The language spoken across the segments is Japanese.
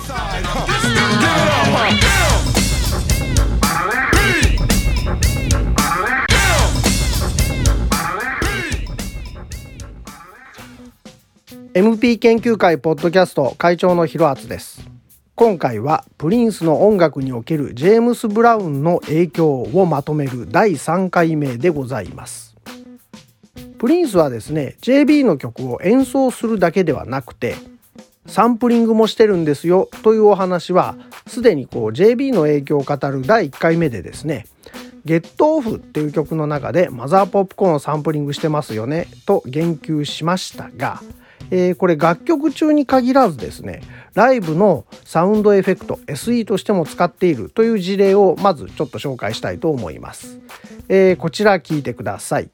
MP 研究会ポッドキャスト会長のひろあつです。今回はプリンスの音楽におけるジェームス・ブラウンの影響をまとめる第3回目でございます。プリンスはですね JB の曲を演奏するだけではなくてサンプリングもしてるんですよというお話はすでにJB の影響を語る第1回目でですねゲットオフっていう曲の中でマザーポップコーンをサンプリングしてますよねと言及しましたが、これ楽曲中に限らずですねライブのサウンドエフェクト SE としても使っているという事例をまずちょっと紹介したいと思います。こちら聞いてください。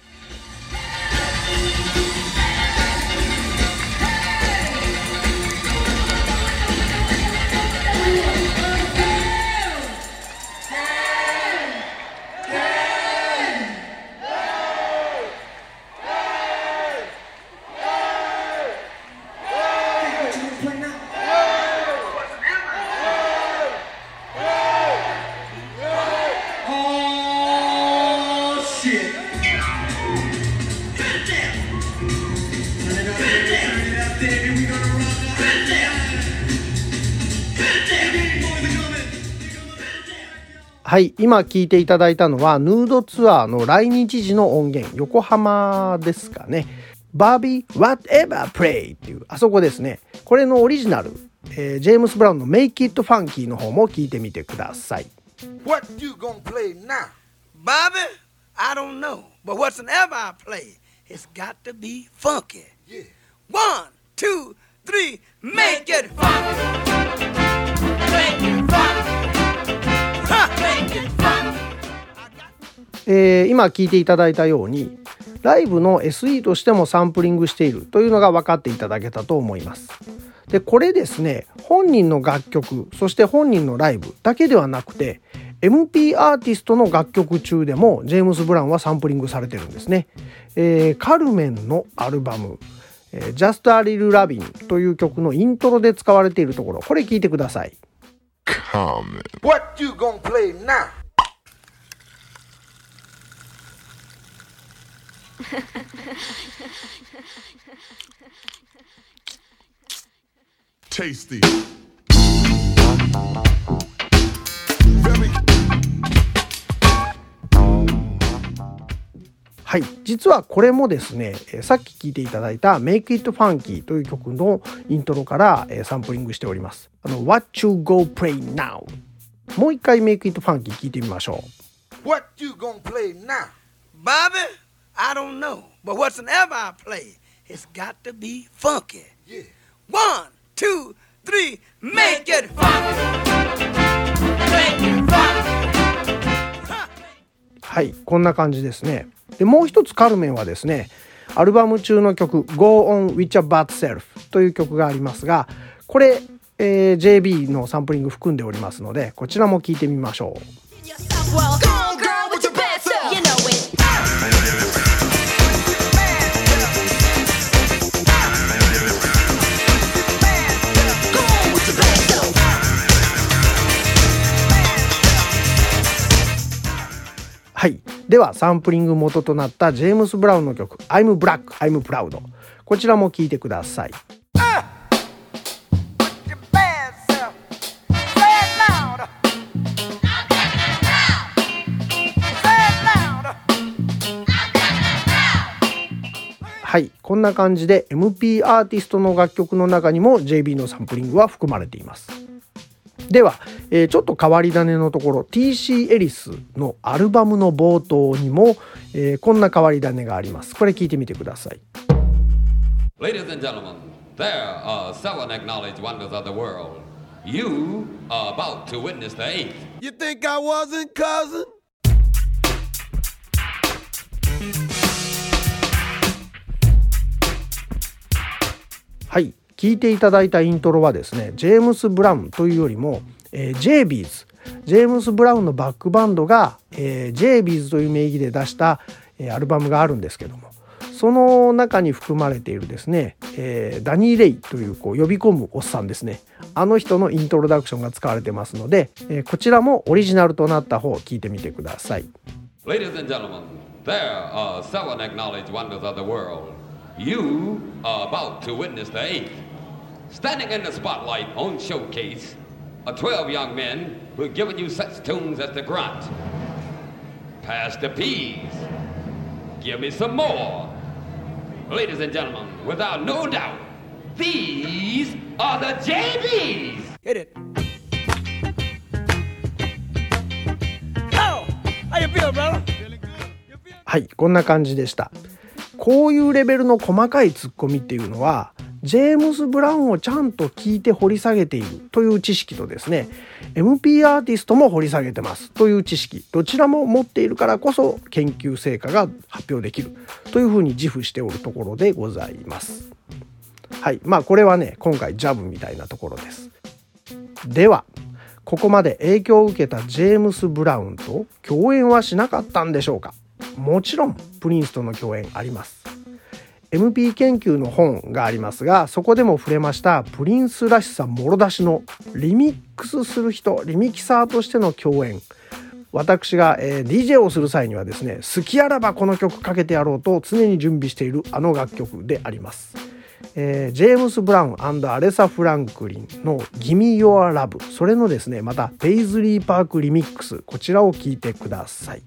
はい、今聞いていただいたのはヌードツアーの来日時の音源、横浜ですかね。バービー Whatever Play っていうあそこですね。これのオリジナル、ジェームス・ブラウンの Make It Funky の方も聞いてみてください。 What you gonna play now? Bobby, I don't know, but whatsoever I play, it's got to be funky. Yeah. 1, 2, 3, make it funky. Make it funky. 今聞いていただいたようにライブの SE としてもサンプリングしているというのが分かっていただけたと思います。でこれですね本人の楽曲そして本人のライブだけではなくて MP アーティストの楽曲中でもジェームス・ブラウンはサンプリングされてるんですね。カルメンのアルバムJust a Little Lovin' という曲のイントロで使われているところ、これ聞いてください。 What you gonna play now? Tasty. はい、実はこれもですねさっき聴いていただいた Make It Funky という曲のイントロからサンプリングしております。What you go play now もう一回 Make It Funky 聴いてみましょう。 What you gonna play now? Bobby, I don't know, but whatsoever I play, it's got to be funky. Yeah. 1, 2, 3, make it funky. Make it funky. はい、こんな感じですね。でもう一つカルメンはですねアルバム中の曲 Go On With Your Bad Self という曲がありますがこれ、JB のサンプリング含んでおりますのでこちらも聴いてみましょう。はい、ではサンプリング元となったジェームス・ブラウンの曲 I'm Black, I'm Proud こちらも聴いてください。はい、こんな感じで MP アーティストの楽曲の中にも JB のサンプリングは含まれています。では、ちょっと変わり種のところ TC エリスのアルバムの冒頭にも、こんな変わり種があります。これ聞いてみてください。 Ladies and gentlemen, there are seven acknowledged wonders of the world. You are about to witness the eighth. You think I wasn't, cousin? はい、聞いていただいたイントロはですねジェームス・ブラウンというよりも、JB's ジェームス・ブラウンのバックバンドが、JB's という名義で出した、アルバムがあるんですけどもその中に含まれているですね、ダニー・レイという呼び込むおっさんですね。あの人のイントロダクションが使われてますので、こちらもオリジナルとなった方を聞いてみてください。 Ladies and gentlemen, there are 7 acknowledged wonders of the world. You are about to witness the 8th. Standing in the spotlight on Showcase are 12 young men who have given you such tunes as the Grunt, Pass the Peas, Give Me Some More. Ladies and gentlemen, without no doubt, these are the JBs. Hit it. Oh, how you feel, brother? はい、こんな感じでした。こういうレベルの細かいツッコミっていうのはジェームス・ブラウンをちゃんと聞いて掘り下げているという知識とですね、 MP アーティストも掘り下げてますという知識、どちらも持っているからこそ研究成果が発表できるというふうに自負しておるところでございます。はい、これはね、今回ジャブみたいなところです。ではここまで影響を受けたジェームス・ブラウンと共演はしなかったんでしょうか。もちろんプリンスとの共演あります。 MP 研究の本がありますが、そこでも触れましたプリンスらしさもろ出しのリミックスする人、リミキサーとしての共演、私が、DJ をする際にはですね、好きあらばこの曲かけてやろうと常に準備しているあの楽曲であります。ジェームス・ブラウン&アレサ・フランクリンの Gimme Your Love、 それのですね、またペイズリー・パークリミックス、こちらを聴いてください。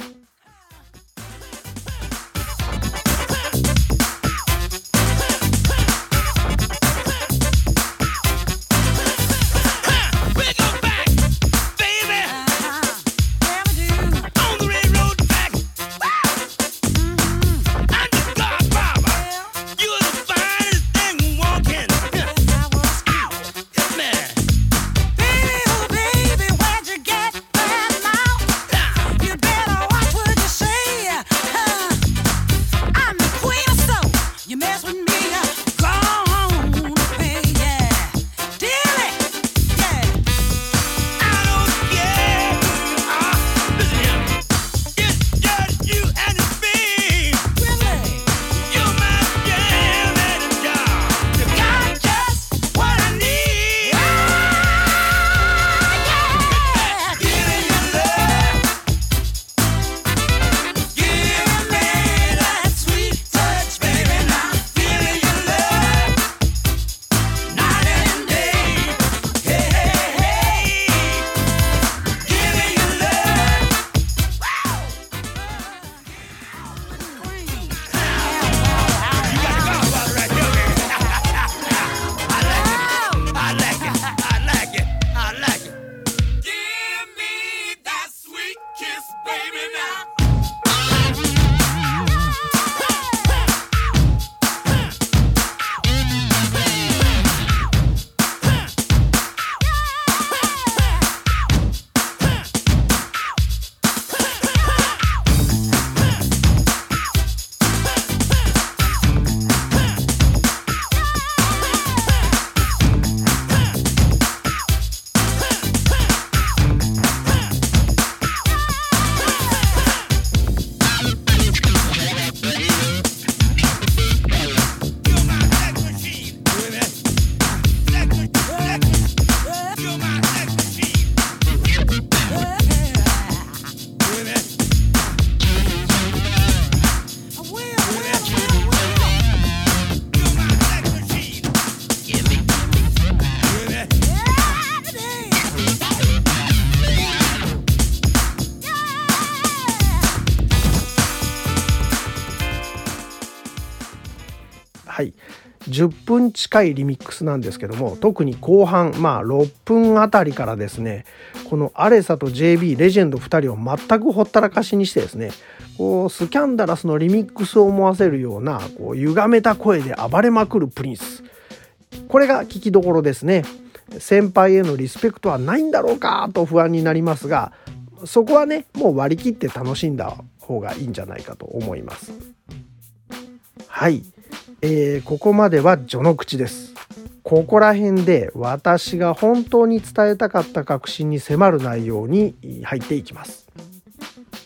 はい、10分近いリミックスなんですけども、特に後半6分あたりからですね、このアレサと JB レジェンド2人を全くほったらかしにしてですね、スキャンダラスのリミックスを思わせるような歪めた声で暴れまくるプリンス、これが聞きどころですね。先輩へのリスペクトはないんだろうかと不安になりますが、そこはね、もう割り切って楽しんだ方がいいんじゃないかと思います。はい、ここまでは序の口です。ここら辺で私が本当に伝えたかった核心に迫る内容に入っていきます。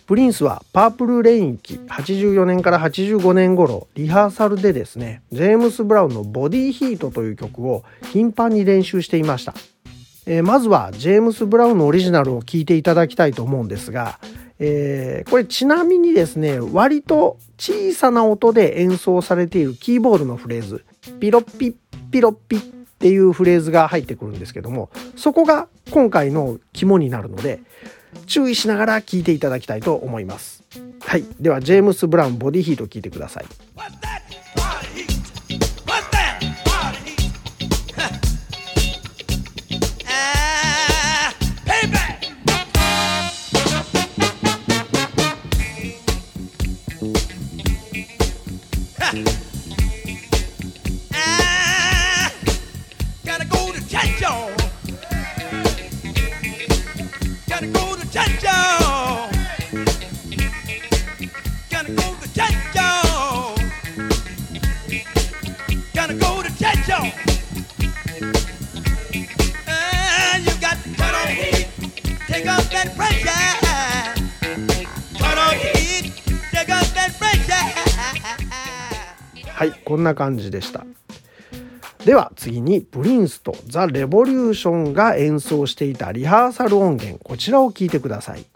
プリンスはパープルレイン期84年から85年頃リハーサルでですね、ジェームス・ブラウンのボディヒートという曲を頻繁に練習していました。まずはジェームス・ブラウンのオリジナルを聴いていただきたいと思うんですが、これちなみにですね、割と小さな音で演奏されているキーボードのフレーズ、ピロッピッピロッピッっていうフレーズが入ってくるんですけども、そこが今回の肝になるので注意しながら聴いていただきたいと思います。はい、ではジェームス・ブラウンボディヒート聴いてください。はい、こんな感じでした。では次にプリンスとザ・レボリューションが演奏していたリハーサル音源、こちらを聞いてください。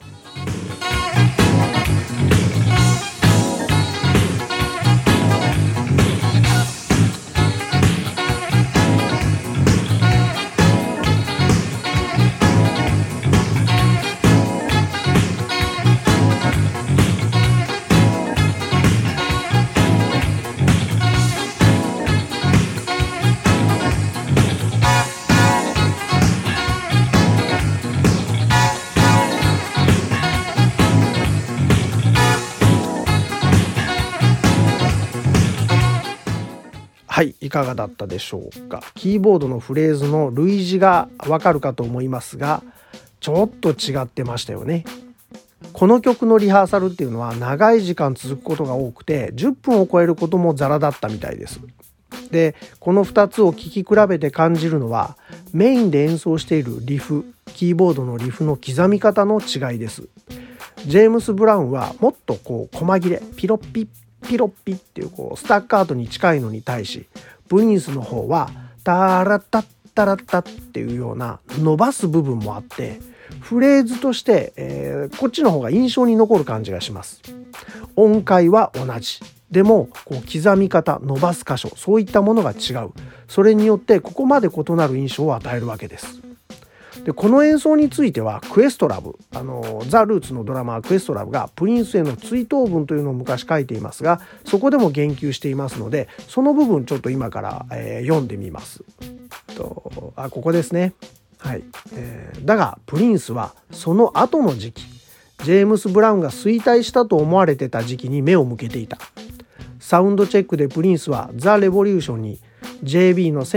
はい、いかがだったでしょうか。キーボードのフレーズの類似がわかるかと思いますが、ちょっと違ってましたよね。この曲のリハーサルっていうのは長い時間続くことが多くて、10分を超えることもザラだったみたいです。で、この2つを聴き比べて感じるのは、メインで演奏しているリフ、キーボードのリフの刻み方の違いです。ジェームス・ブラウンはもっと細切れ、ピロッピッピロッピっていうスタッカートに近いのに対し、プリンスの方はタラッタッタラッタっていうような伸ばす部分もあって、フレーズとして、こっちの方が印象に残る感じがします。音階は同じでも刻み方、伸ばす箇所、そういったものが違う。それによってここまで異なる印象を与えるわけです。で、この演奏についてはクエストラブ、ザ・ルーツのドラマークエストラブがプリンスへの追悼文というのを昔書いていますが、そこでも言及していますので、その部分ちょっと今から、読んでみます。ここですね。はい。だがプリンスはその後の時期、ジェームス・ブラウンが衰退したと思われてた時期に目を向けていた。サウンドチェックでプリンスはザ・レボリューションに JB の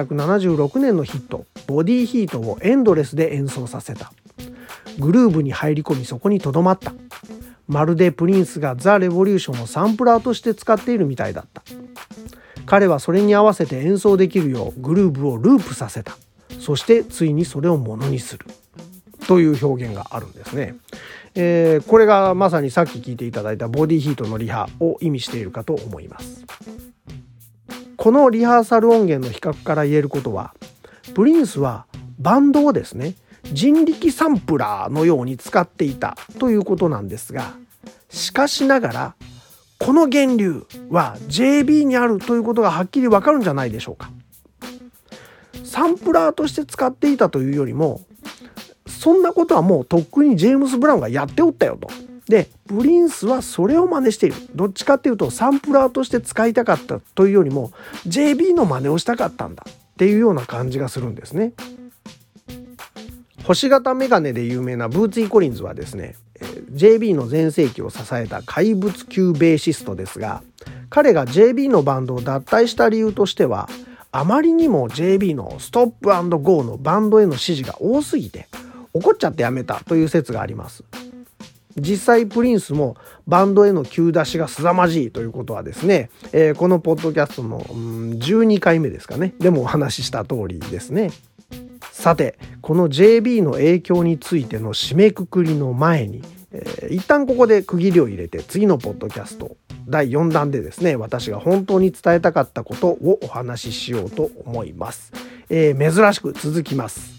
1976年のヒットボディヒートをエンドレスで演奏させた。グルーブに入り込みそこにとどまった。まるでプリンスがザ・レボリューションをサンプラーとして使っているみたいだった。彼はそれに合わせて演奏できるようグルーブをループさせた。そしてついにそれをものにするという表現があるんですね。これがまさにさっき聞いていただいたボディヒートのリハを意味しているかと思います。このリハーサル音源の比較から言えることは、プリンスはバンドをですね、人力サンプラーのように使っていたということなんですが、しかしながらこの源流は JB にあるということがはっきりわかるんじゃないでしょうか。サンプラーとして使っていたというよりも、そんなことはもうとっくにジェームス・ブラウンがやっておったよと。で、プリンスはそれを真似している。どっちかっていうとサンプラーとして使いたかったというよりも JB の真似をしたかったんだっていうような感じがするんですね。星型メガネで有名なブーツィー・コリンズはですね、JB の全盛期を支えた怪物級ベーシストですが、彼が JB のバンドを脱退した理由としては、あまりにも JB のストップ&ゴーのバンドへの指示が多すぎて怒っちゃってやめたという説があります。実際プリンスもバンドへの急出しが凄まじいということはですね、このポッドキャストの12回目ですかね、でもお話しした通りですね。さて、この JB の影響についての締めくくりの前に一旦ここで区切りを入れて、次のポッドキャスト第4弾でですね、私が本当に伝えたかったことをお話ししようと思います。珍しく続きます。